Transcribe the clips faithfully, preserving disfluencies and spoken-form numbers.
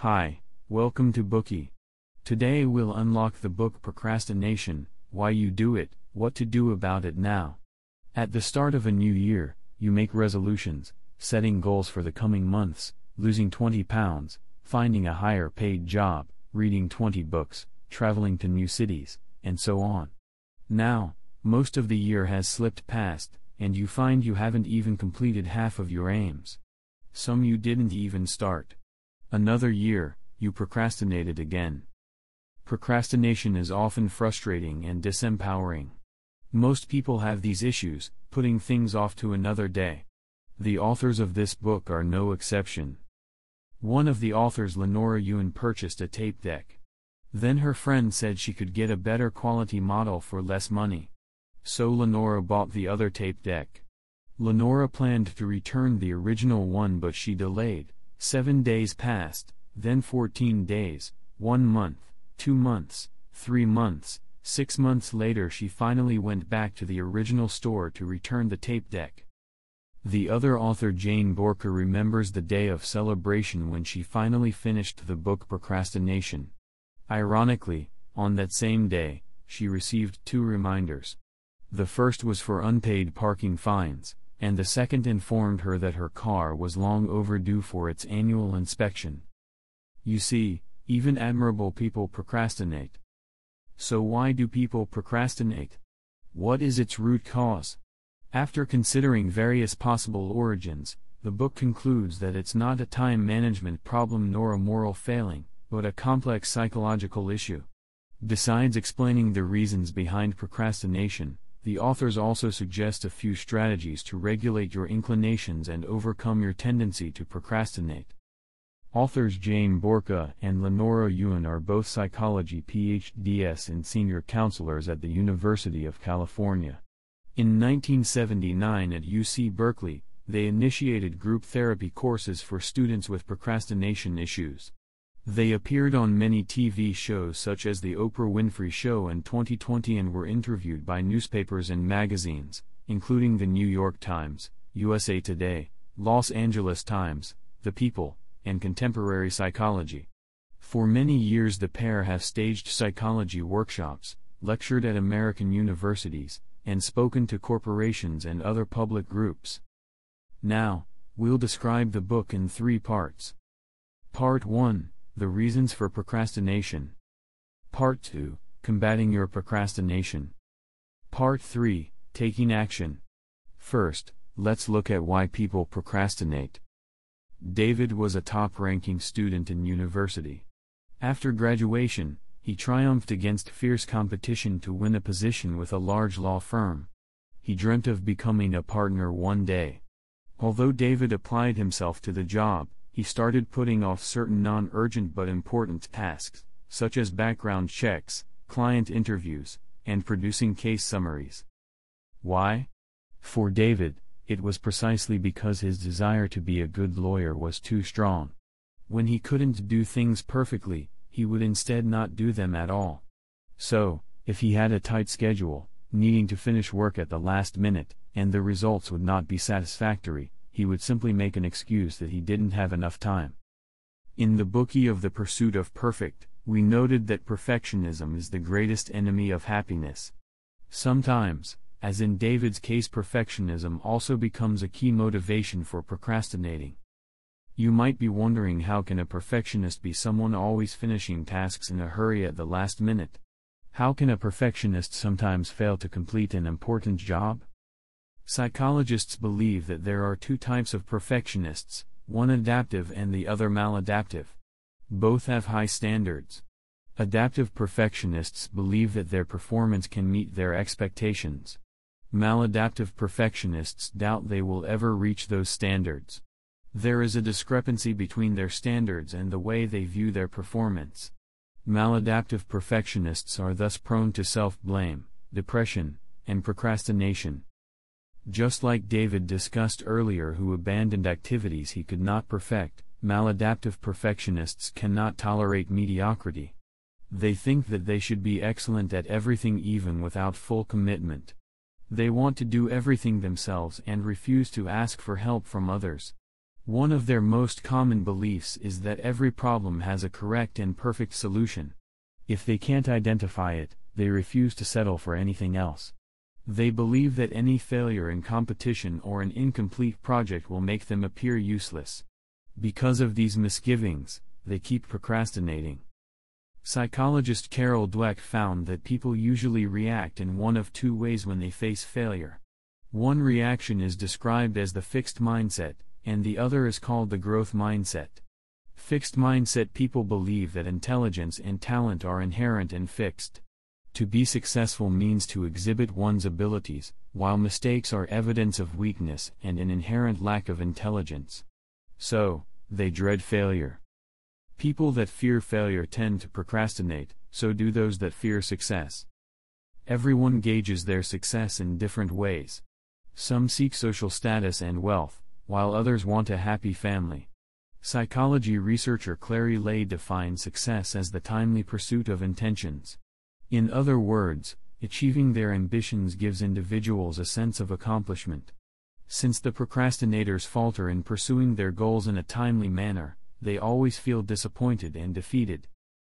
Hi, welcome to Bookie. Today we'll unlock the book Procrastination, Why You Do It, What to Do About It Now. At the start of a new year, you make resolutions, setting goals for the coming months, losing twenty pounds, finding a higher paid job, reading twenty books, traveling to new cities, and so on. Now, most of the year has slipped past, and you find you haven't even completed half of your aims. Some you didn't even start. Another year, you procrastinated again. Procrastination is often frustrating and disempowering. Most people have these issues, putting things off to another day. The authors of this book are no exception. One of the authors, Lenora Yuan, purchased a tape deck. Then her friend said she could get a better quality model for less money. So Lenora bought the other tape deck. Lenora planned to return the original one, but she delayed. Seven days passed, then fourteen days, one month, two months, three months, six months later she finally went back to the original store to return the tape deck. The other author, Jane Borka, remembers the day of celebration when she finally finished the book Procrastination. Ironically, on that same day, she received two reminders. The first was for unpaid parking fines, and the second informed her that her car was long overdue for its annual inspection. You see, even admirable people procrastinate. So why do people procrastinate? What is its root cause? After considering various possible origins, the book concludes that it's not a time management problem nor a moral failing, but a complex psychological issue. Besides explaining the reasons behind procrastination, the authors also suggest a few strategies to regulate your inclinations and overcome your tendency to procrastinate. Authors Jane Borka and Lenora Yuan are both psychology P H Ds and senior counselors at the University of California. In nineteen seventy-nine at U C Berkeley, they initiated group therapy courses for students with procrastination issues. They appeared on many T V shows such as The Oprah Winfrey Show and twenty twenty and were interviewed by newspapers and magazines, including The New York Times, U S A Today, Los Angeles Times, The People, and Contemporary Psychology. For many years the pair have staged psychology workshops, lectured at American universities, and spoken to corporations and other public groups. Now, we'll describe the book in three parts. Part one. The reasons for procrastination. Part two. Combating your procrastination. Part three. Taking action. First, let's look at why people procrastinate. David was a top-ranking student in university. After graduation, he triumphed against fierce competition to win a position with a large law firm. He dreamt of becoming a partner one day. Although David applied himself to the job, he started putting off certain non-urgent but important tasks, such as background checks, client interviews, and producing case summaries. Why? For David, it was precisely because his desire to be a good lawyer was too strong. When he couldn't do things perfectly, he would instead not do them at all. So, if he had a tight schedule, needing to finish work at the last minute, and the results would not be satisfactory, he would simply make an excuse that he didn't have enough time. In the Bookie of the Pursuit of Perfect, we noted that perfectionism is the greatest enemy of happiness. Sometimes, as in David's case, perfectionism also becomes a key motivation for procrastinating. You might be wondering, how can a perfectionist be someone always finishing tasks in a hurry at the last minute? How can a perfectionist sometimes fail to complete an important job? Psychologists believe that there are two types of perfectionists, one adaptive and the other maladaptive. Both have high standards. Adaptive perfectionists believe that their performance can meet their expectations. Maladaptive perfectionists doubt they will ever reach those standards. There is a discrepancy between their standards and the way they view their performance. Maladaptive perfectionists are thus prone to self-blame, depression, and procrastination. Just like David discussed earlier, who abandoned activities he could not perfect, maladaptive perfectionists cannot tolerate mediocrity. They think that they should be excellent at everything even without full commitment. They want to do everything themselves and refuse to ask for help from others. One of their most common beliefs is that every problem has a correct and perfect solution. If they can't identify it, they refuse to settle for anything else. They believe that any failure in competition or an incomplete project will make them appear useless. Because of these misgivings, they keep procrastinating. Psychologist Carol Dweck found that people usually react in one of two ways when they face failure. One reaction is described as the fixed mindset, and the other is called the growth mindset. Fixed mindset people believe that intelligence and talent are inherent and fixed. To be successful means to exhibit one's abilities, while mistakes are evidence of weakness and an inherent lack of intelligence. So, they dread failure. People that fear failure tend to procrastinate, so do those that fear success. Everyone gauges their success in different ways. Some seek social status and wealth, while others want a happy family. Psychology researcher Clary Lay defines success as the timely pursuit of intentions. In other words, achieving their ambitions gives individuals a sense of accomplishment. Since the procrastinators falter in pursuing their goals in a timely manner, they always feel disappointed and defeated.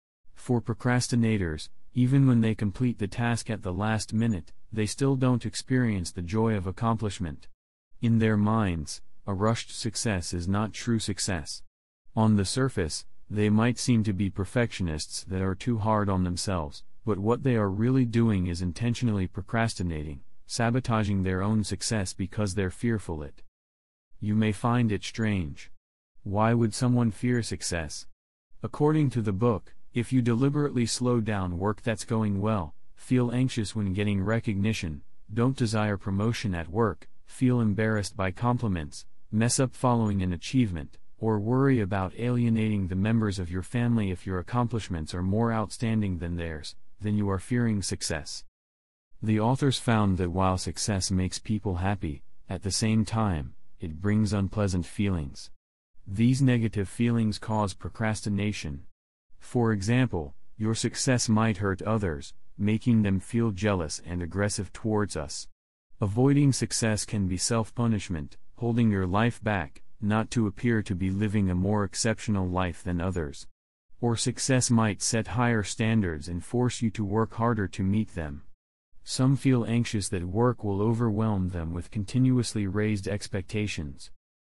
For procrastinators, even when they complete the task at the last minute, they still don't experience the joy of accomplishment. In their minds, a rushed success is not true success. On the surface, they might seem to be perfectionists that are too hard on themselves, but what they are really doing is intentionally procrastinating, sabotaging their own success because they're fearful it. You may find it strange. Why would someone fear success? According to the book, if you deliberately slow down work that's going well, feel anxious when getting recognition, don't desire promotion at work, feel embarrassed by compliments, mess up following an achievement, or worry about alienating the members of your family if your accomplishments are more outstanding than theirs, then you are fearing success. The authors found that while success makes people happy, at the same time, it brings unpleasant feelings. These negative feelings cause procrastination. For example, your success might hurt others, making them feel jealous and aggressive towards us. Avoiding success can be self-punishment, holding your life back, not to appear to be living a more exceptional life than others. Or success might set higher standards and force you to work harder to meet them. Some feel anxious that work will overwhelm them with continuously raised expectations.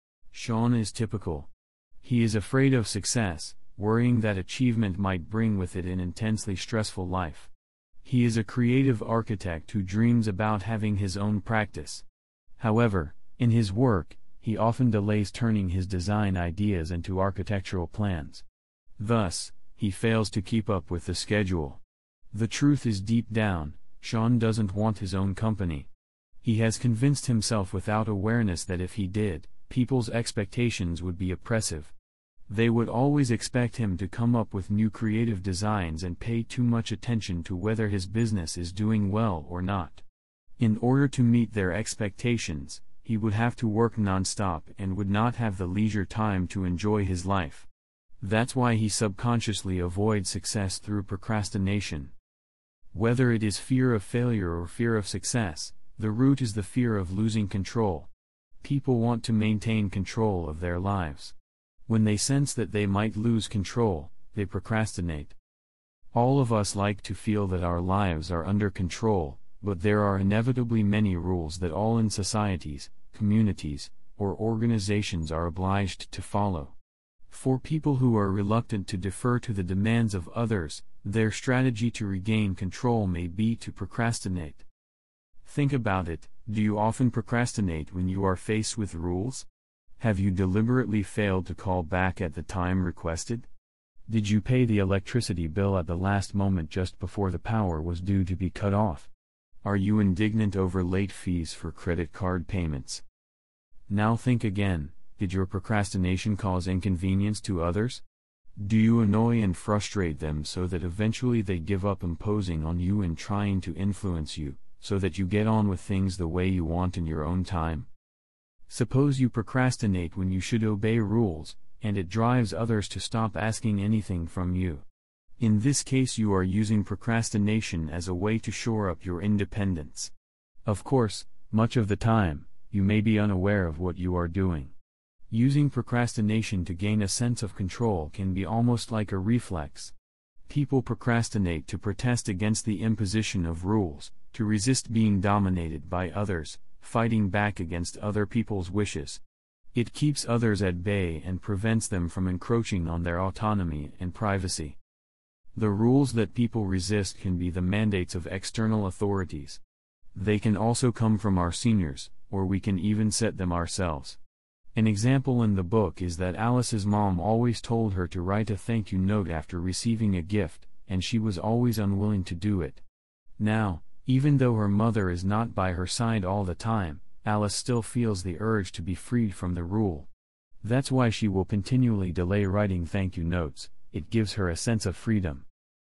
Sean is typical. He is afraid of success, worrying that achievement might bring with it an intensely stressful life. He is a creative architect who dreams about having his own practice. However, in his work, he often delays turning his design ideas into architectural plans. Thus, he fails to keep up with the schedule. The truth is deep down, Sean doesn't want his own company. He has convinced himself without awareness that if he did, people's expectations would be oppressive. They would always expect him to come up with new creative designs and pay too much attention to whether his business is doing well or not. In order to meet their expectations, he would have to work non-stop and would not have the leisure time to enjoy his life. That's why he subconsciously avoids success through procrastination. Whether it is fear of failure or fear of success, the root is the fear of losing control. People want to maintain control of their lives. When they sense that they might lose control, they procrastinate. All of us like to feel that our lives are under control, but there are inevitably many rules that all in societies, communities, or organizations are obliged to follow. For people who are reluctant to defer to the demands of others, their strategy to regain control may be to procrastinate. Think about it, do you often procrastinate when you are faced with rules? Have you deliberately failed to call back at the time requested? Did you pay the electricity bill at the last moment just before the power was due to be cut off? Are you indignant over late fees for credit card payments? Now think again, did your procrastination cause inconvenience to others? Do you annoy and frustrate them so that eventually they give up imposing on you and trying to influence you, so that you get on with things the way you want in your own time? Suppose you procrastinate when you should obey rules, and it drives others to stop asking anything from you. In this case you are using procrastination as a way to shore up your independence. Of course, much of the time, you may be unaware of what you are doing. Using procrastination to gain a sense of control can be almost like a reflex. People procrastinate to protest against the imposition of rules, to resist being dominated by others, fighting back against other people's wishes. It keeps others at bay and prevents them from encroaching on their autonomy and privacy. The rules that people resist can be the mandates of external authorities. They can also come from our seniors, or we can even set them ourselves. An example in the book is that Alice's mom always told her to write a thank you note after receiving a gift, and she was always unwilling to do it. Now, even though her mother is not by her side all the time, Alice still feels the urge to be freed from the rule. That's why she will continually delay writing thank you notes. It gives her a sense of freedom.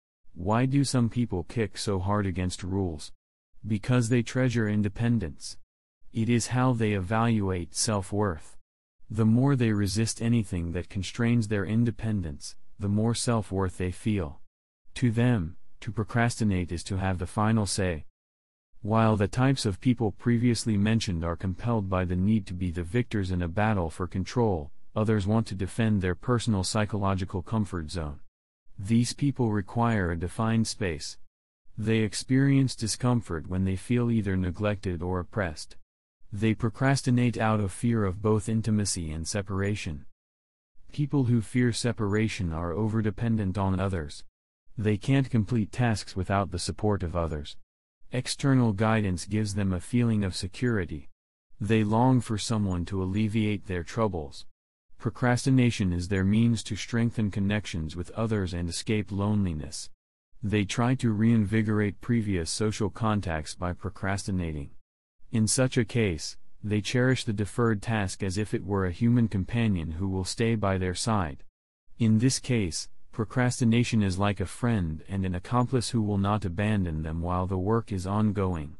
Why do some people kick so hard against rules? Because they treasure independence. It is how they evaluate self-worth. The more they resist anything that constrains their independence, the more self-worth they feel. To them, to procrastinate is to have the final say. While the types of people previously mentioned are compelled by the need to be the victors in a battle for control, others want to defend their personal psychological comfort zone. These people require a defined space. They experience discomfort when they feel either neglected or oppressed. They procrastinate out of fear of both intimacy and separation. People who fear separation are overdependent on others. They can't complete tasks without the support of others. External guidance gives them a feeling of security. They long for someone to alleviate their troubles. Procrastination is their means to strengthen connections with others and escape loneliness. They try to reinvigorate previous social contacts by procrastinating. In such a case, they cherish the deferred task as if it were a human companion who will stay by their side. In this case, procrastination is like a friend and an accomplice who will not abandon them while the work is ongoing.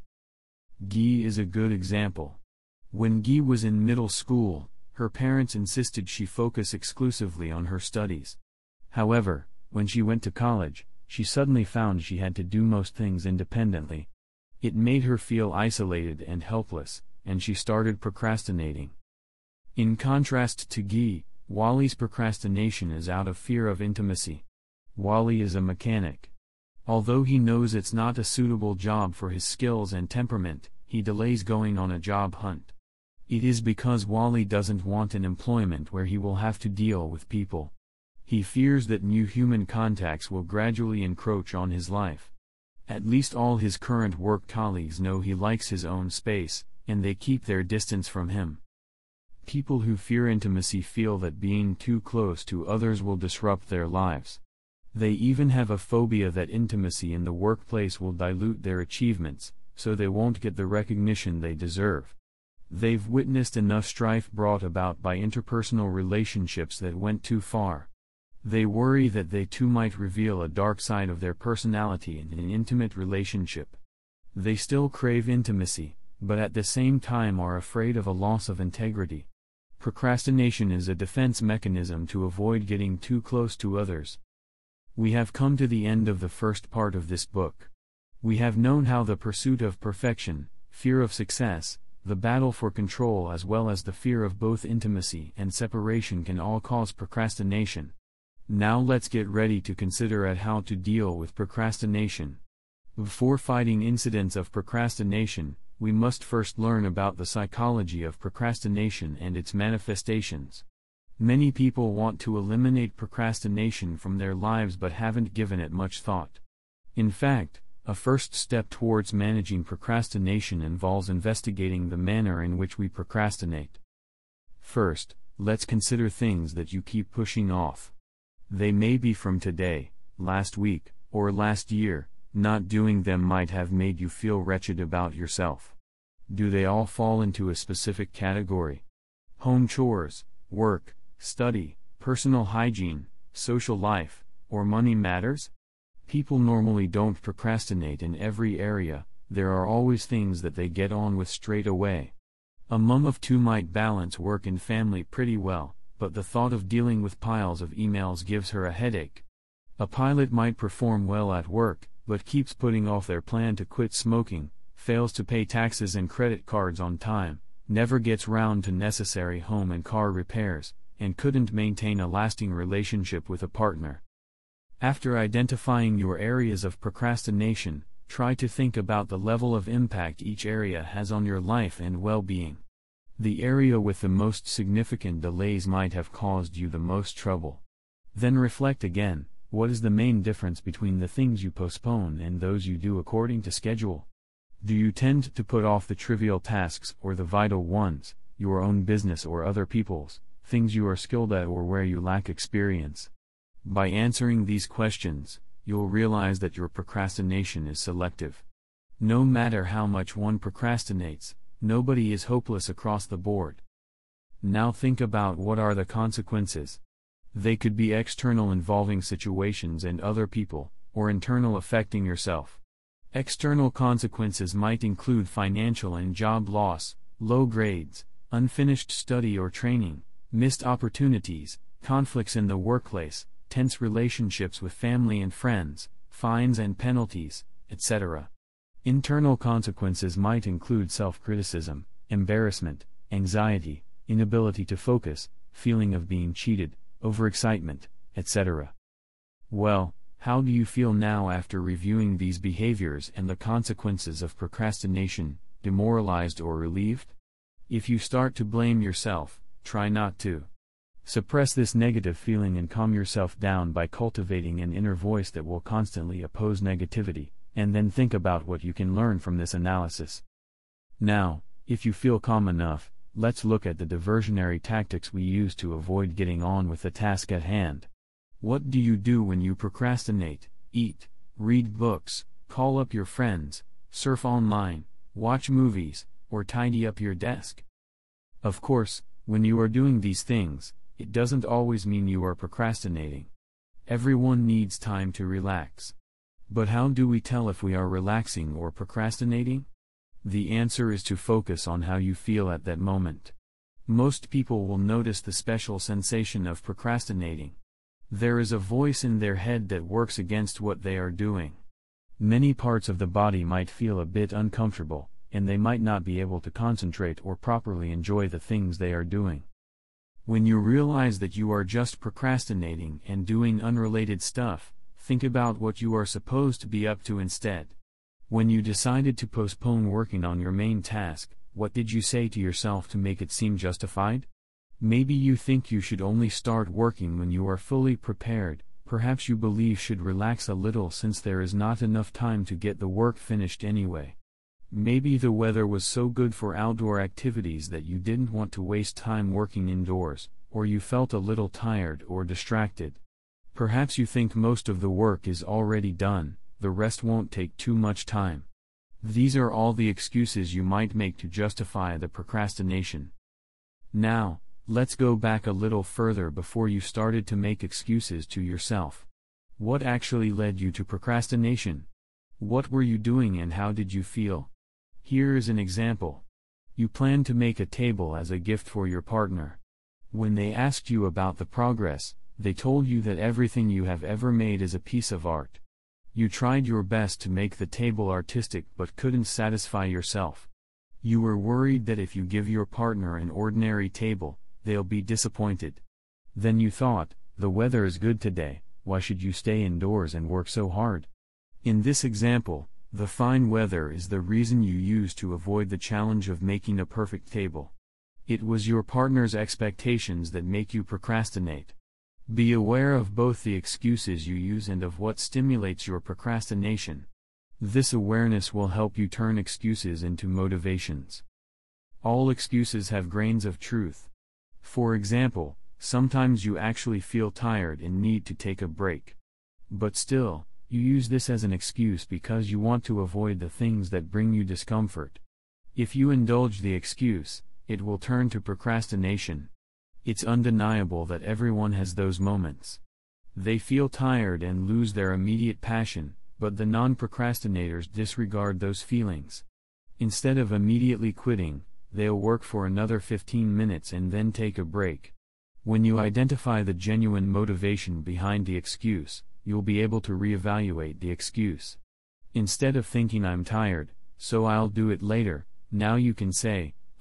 Guy is a good example. When Guy was in middle school, her parents insisted she focus exclusively on her studies. However, when she went to college, she suddenly found she had to do most things independently. It made her feel isolated and helpless, and she started procrastinating. In contrast to Guy, Wally's procrastination is out of fear of intimacy. Wally is a mechanic. Although he knows it's not a suitable job for his skills and temperament, he delays going on a job hunt. It is because Wally doesn't want an employment where he will have to deal with people. He fears that new human contacts will gradually encroach on his life. At least all his current work colleagues know he likes his own space, and they keep their distance from him. People who fear intimacy feel that being too close to others will disrupt their lives. They even have a phobia that intimacy in the workplace will dilute their achievements, so they won't get the recognition they deserve. They've witnessed enough strife brought about by interpersonal relationships that went too far. They worry that they too might reveal a dark side of their personality in an intimate relationship. They still crave intimacy, but at the same time are afraid of a loss of integrity. Procrastination is a defense mechanism to avoid getting too close to others. We have come to the end of the first part of this book. We have known how the pursuit of perfection, fear of success, the battle for control as well as the fear of both intimacy and separation can all cause procrastination. Now let's get ready to consider at how to deal with procrastination. Before fighting incidents of procrastination, we must first learn about the psychology of procrastination and its manifestations. Many people want to eliminate procrastination from their lives but haven't given it much thought. In fact, a first step towards managing procrastination involves investigating the manner in which we procrastinate. First, let's consider things that you keep pushing off. They may be from today, last week, or last year. Not doing them might have made you feel wretched about yourself. Do they all fall into a specific category? Home chores, work, study, personal hygiene, social life, or money matters? People normally don't procrastinate in every area. There are always things that they get on with straight away. A mom of two might balance work and family pretty well, but the thought of dealing with piles of emails gives her a headache. A pilot might perform well at work, but keeps putting off their plan to quit smoking, fails to pay taxes and credit cards on time, never gets round to necessary home and car repairs, and couldn't maintain a lasting relationship with a partner. After identifying your areas of procrastination, try to think about the level of impact each area has on your life and well-being. The area with the most significant delays might have caused you the most trouble. Then reflect again, what is the main difference between the things you postpone and those you do according to schedule? Do you tend to put off the trivial tasks or the vital ones, your own business or other people's, things you are skilled at or where you lack experience? By answering these questions, you'll realize that your procrastination is selective. No matter how much one procrastinates, nobody is hopeless across the board. Now think about what are the consequences. They could be external involving situations and other people, or internal affecting yourself. External consequences might include financial and job loss, low grades, unfinished study or training, missed opportunities, conflicts in the workplace, tense relationships with family and friends, fines and penalties, et cetera. Internal consequences might include self-criticism, embarrassment, anxiety, inability to focus, feeling of being cheated, overexcitement, et cetera. Well, how do you feel now after reviewing these behaviors and the consequences of procrastination, demoralized or relieved? If you start to blame yourself, try not to. Suppress this negative feeling and calm yourself down by cultivating an inner voice that will constantly oppose negativity, and then think about what you can learn from this analysis. Now, if you feel calm enough, let's look at the diversionary tactics we use to avoid getting on with the task at hand. What do you do when you procrastinate? Eat, read books, call up your friends, surf online, watch movies, or tidy up your desk. Of course, when you are doing these things, it doesn't always mean you are procrastinating. Everyone needs time to relax. But how do we tell if we are relaxing or procrastinating? The answer is to focus on how you feel at that moment. Most people will notice the special sensation of procrastinating. There is a voice in their head that works against what they are doing. Many parts of the body might feel a bit uncomfortable, and they might not be able to concentrate or properly enjoy the things they are doing. When you realize that you are just procrastinating and doing unrelated stuff, think about what you are supposed to be up to instead. When you decided to postpone working on your main task, what did you say to yourself to make it seem justified? Maybe you think you should only start working when you are fully prepared, perhaps you believe should relax a little since there is not enough time to get the work finished anyway. Maybe the weather was so good for outdoor activities that you didn't want to waste time working indoors, or you felt a little tired or distracted. Perhaps you think most of the work is already done, the rest won't take too much time. These are all the excuses you might make to justify the procrastination. Now, let's go back a little further before you started to make excuses to yourself. What actually led you to procrastination? What were you doing and how did you feel? Here is an example. You planned to make a table as a gift for your partner. When they asked you about the progress, they told you that everything you have ever made is a piece of art. You tried your best to make the table artistic but couldn't satisfy yourself. You were worried that if you give your partner an ordinary table, they'll be disappointed. Then you thought, the weather is good today, why should you stay indoors and work so hard? In this example, the fine weather is the reason you used to avoid the challenge of making a perfect table. It was your partner's expectations that make you procrastinate. Be aware of both the excuses you use and of what stimulates your procrastination. This awareness will help you turn excuses into motivations. All excuses have grains of truth. For example, sometimes you actually feel tired and need to take a break. But still, you use this as an excuse because you want to avoid the things that bring you discomfort. If you indulge the excuse, it will turn to procrastination. It's undeniable that everyone has those moments. They feel tired and lose their immediate passion, but the non-procrastinators disregard those feelings. Instead of immediately quitting, they'll work for another fifteen minutes and then take a break. When you identify the genuine motivation behind the excuse, you'll be able to reevaluate the excuse. Instead of thinking I'm tired, so I'll do it later, now you can say,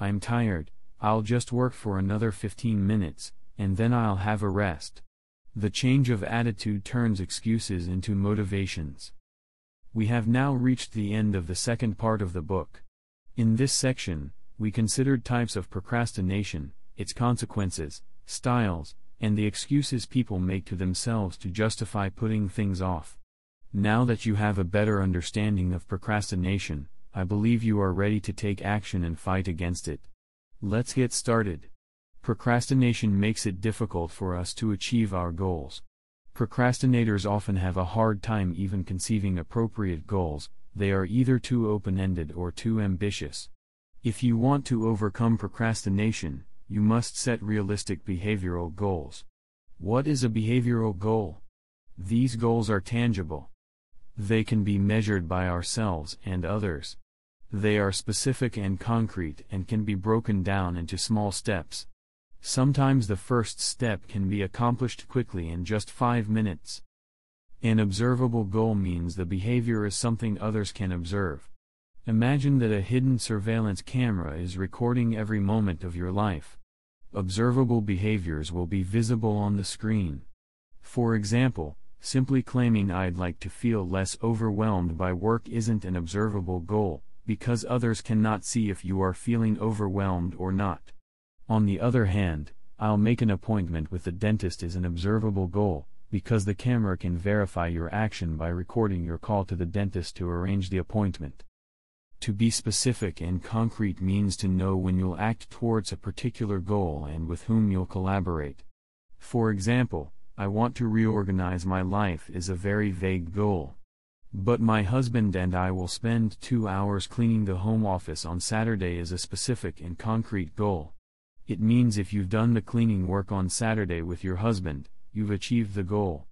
I'm tired, I'll just work for another fifteen minutes, and then I'll have a rest. The change of attitude turns excuses into motivations. We have now reached the end of the second part of the book. In this section, we considered types of procrastination, its consequences, styles, and the excuses people make to themselves to justify putting things off. Now that you have a better understanding of procrastination, I believe you are ready to take action and fight against it. Let's get started. Procrastination makes it difficult for us to achieve our goals. Procrastinators often have a hard time even conceiving appropriate goals. They are either too open-ended or too ambitious. If you want to overcome procrastination, you must set realistic behavioral goals. What is a behavioral goal? These goals are tangible. They can be measured by ourselves and others. They are specific and concrete and can be broken down into small steps. Sometimes the first step can be accomplished quickly in just five minutes. An observable goal means the behavior is something others can observe. Imagine that a hidden surveillance camera is recording every moment of your life. Observable behaviors will be visible on the screen. For example, simply claiming "I'd like to feel less overwhelmed by work" isn't an observable goal, because others cannot see if you are feeling overwhelmed or not. On the other hand, "I'll make an appointment with the dentist" is an observable goal, because the camera can verify your action by recording your call to the dentist to arrange the appointment. To be specific and concrete means to know when you'll act towards a particular goal and with whom you'll collaborate. For example, "I want to reorganize my life" is a very vague goal. But "my husband and I will spend two hours cleaning the home office on Saturday" is a specific and concrete goal. It means if you've done the cleaning work on Saturday with your husband, you've achieved the goal.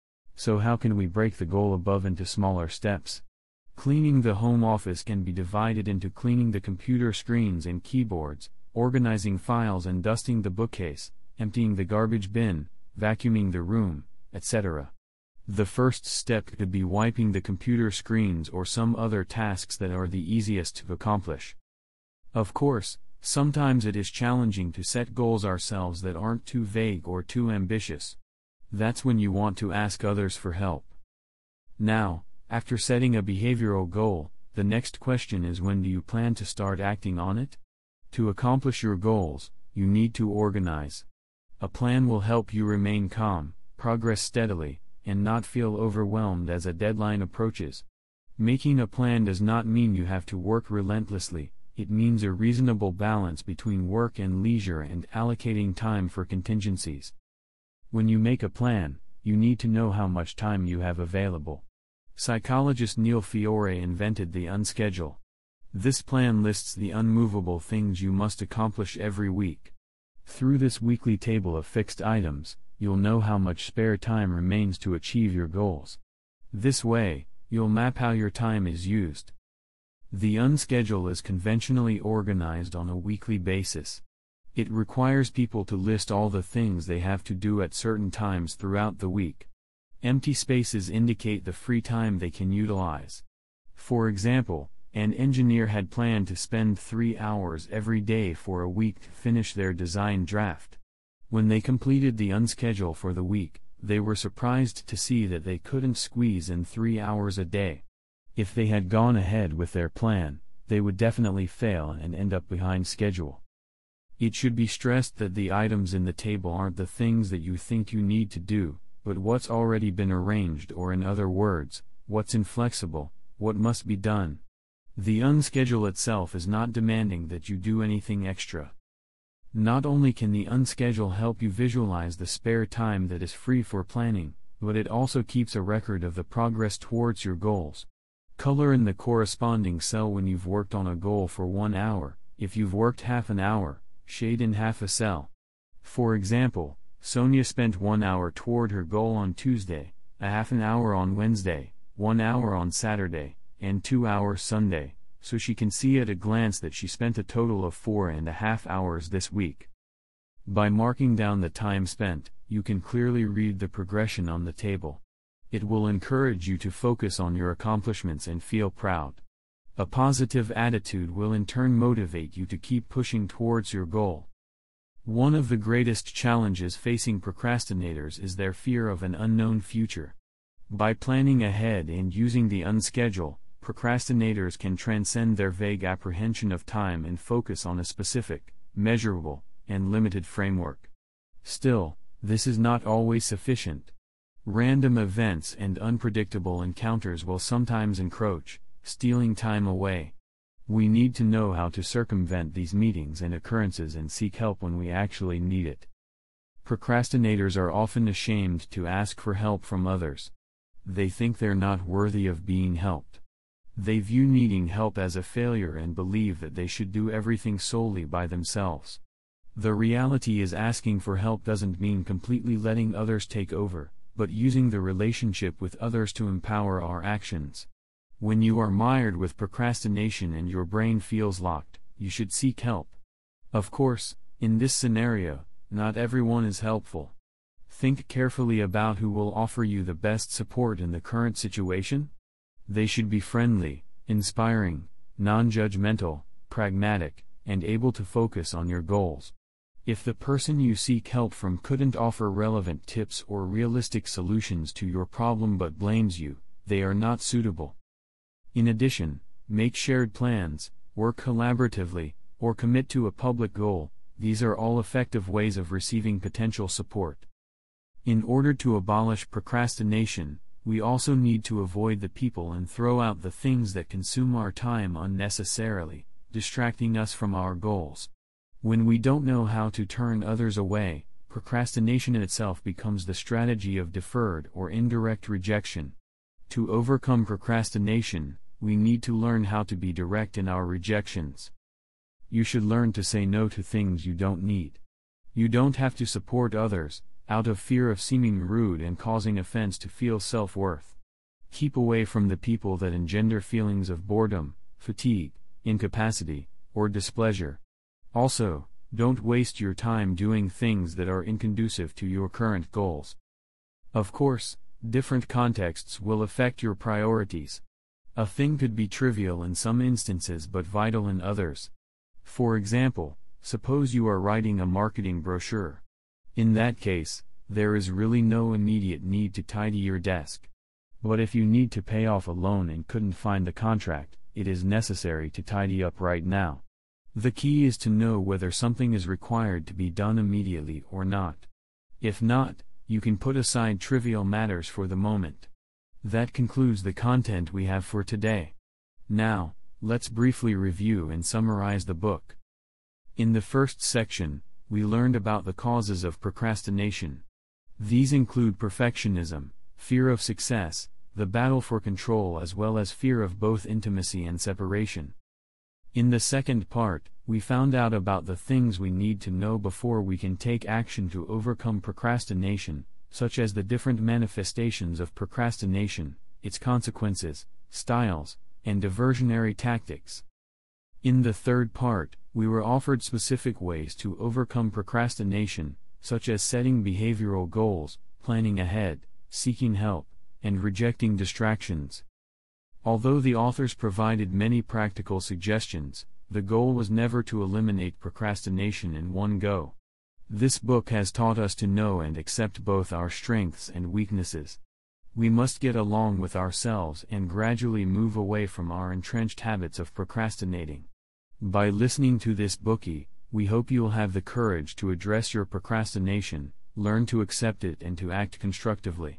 So how can we break the goal above into smaller steps? Cleaning the home office can be divided into cleaning the computer screens and keyboards, organizing files and dusting the bookcase, emptying the garbage bin, vacuuming the room, et cetera. The first step could be wiping the computer screens or some other tasks that are the easiest to accomplish. Of course, sometimes it is challenging to set goals ourselves that aren't too vague or too ambitious. That's when you want to ask others for help. Now, after setting a behavioral goal, the next question is, when do you plan to start acting on it? To accomplish your goals, you need to organize. A plan will help you remain calm, progress steadily, and not feel overwhelmed as a deadline approaches. Making a plan does not mean you have to work relentlessly. It means a reasonable balance between work and leisure and allocating time for contingencies. When you make a plan, you need to know how much time you have available. Psychologist Neil Fiore invented the unschedule. This plan lists the unmovable things you must accomplish every week. Through this weekly table of fixed items, you'll know how much spare time remains to achieve your goals. This way, you'll map how your time is used. The unschedule is conventionally organized on a weekly basis. It requires people to list all the things they have to do at certain times throughout the week. Empty spaces indicate the free time they can utilize. For example, an engineer had planned to spend three hours every day for a week to finish their design draft. When they completed the unschedule for the week, they were surprised to see that they couldn't squeeze in three hours a day. If they had gone ahead with their plan, they would definitely fail and end up behind schedule. It should be stressed that the items in the table aren't the things that you think you need to do, but what's already been arranged, or in other words, what's inflexible, what must be done. The unschedule itself is not demanding that you do anything extra. Not only can the unschedule help you visualize the spare time that is free for planning, but it also keeps a record of the progress towards your goals. Color in the corresponding cell when you've worked on a goal for one hour. If you've worked half an hour, shade in half a cell. For example, Sonia spent one hour toward her goal on Tuesday, a half an hour on Wednesday, one hour on Saturday, and two hours Sunday, so she can see at a glance that she spent a total of four and a half hours this week. By marking down the time spent, you can clearly read the progression on the table. It will encourage you to focus on your accomplishments and feel proud. A positive attitude will in turn motivate you to keep pushing towards your goal. One of the greatest challenges facing procrastinators is their fear of an unknown future. By planning ahead and using the unschedule, procrastinators can transcend their vague apprehension of time and focus on a specific, measurable, and limited framework. Still, this is not always sufficient. Random events and unpredictable encounters will sometimes encroach, stealing time away. We need to know how to circumvent these meetings and occurrences and seek help when we actually need it. Procrastinators are often ashamed to ask for help from others. They think they're not worthy of being helped. They view needing help as a failure and believe that they should do everything solely by themselves. The reality is asking for help doesn't mean completely letting others take over, but using the relationship with others to empower our actions. When you are mired with procrastination and your brain feels locked, you should seek help. Of course, in this scenario, not everyone is helpful. Think carefully about who will offer you the best support in the current situation. They should be friendly, inspiring, non-judgmental, pragmatic, and able to focus on your goals. If the person you seek help from couldn't offer relevant tips or realistic solutions to your problem but blames you, they are not suitable. In addition, make shared plans, work collaboratively, or commit to a public goal. These are all effective ways of receiving potential support. In order to abolish procrastination, we also need to avoid the people and throw out the things that consume our time unnecessarily, distracting us from our goals. When we don't know how to turn others away, procrastination in itself becomes the strategy of deferred or indirect rejection. To overcome procrastination, we need to learn how to be direct in our rejections. You should learn to say no to things you don't need. You don't have to support others, out of fear of seeming rude and causing offense to feel self-worth. Keep away from the people that engender feelings of boredom, fatigue, incapacity, or displeasure. Also, don't waste your time doing things that are inconducive to your current goals. Of course, different contexts will affect your priorities. A thing could be trivial in some instances but vital in others. For example, suppose you are writing a marketing brochure. In that case, there is really no immediate need to tidy your desk. But if you need to pay off a loan and couldn't find the contract, it is necessary to tidy up right now. The key is to know whether something is required to be done immediately or not. If not, you can put aside trivial matters for the moment. That concludes the content we have for today. Now, let's briefly review and summarize the book. In the first section, we learned about the causes of procrastination. These include perfectionism, fear of success, the battle for control, as well as fear of both intimacy and separation. In the second part, we found out about the things we need to know before we can take action to overcome procrastination, such as the different manifestations of procrastination, its consequences, styles, and diversionary tactics. In the third part, we were offered specific ways to overcome procrastination, such as setting behavioral goals, planning ahead, seeking help, and rejecting distractions. Although the authors provided many practical suggestions, the goal was never to eliminate procrastination in one go. This book has taught us to know and accept both our strengths and weaknesses. We must get along with ourselves and gradually move away from our entrenched habits of procrastinating. By listening to this bookie, we hope you'll have the courage to address your procrastination, learn to accept it and to act constructively.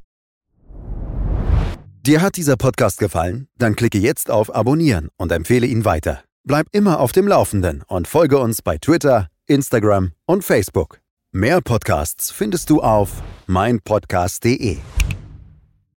Dir hat dieser Podcast gefallen? Dann klicke jetzt auf Abonnieren und empfehle ihn weiter. Bleib immer auf dem Laufenden und folge uns bei Twitter, Instagram und Facebook. Mehr Podcasts findest du auf mein podcast punkt de.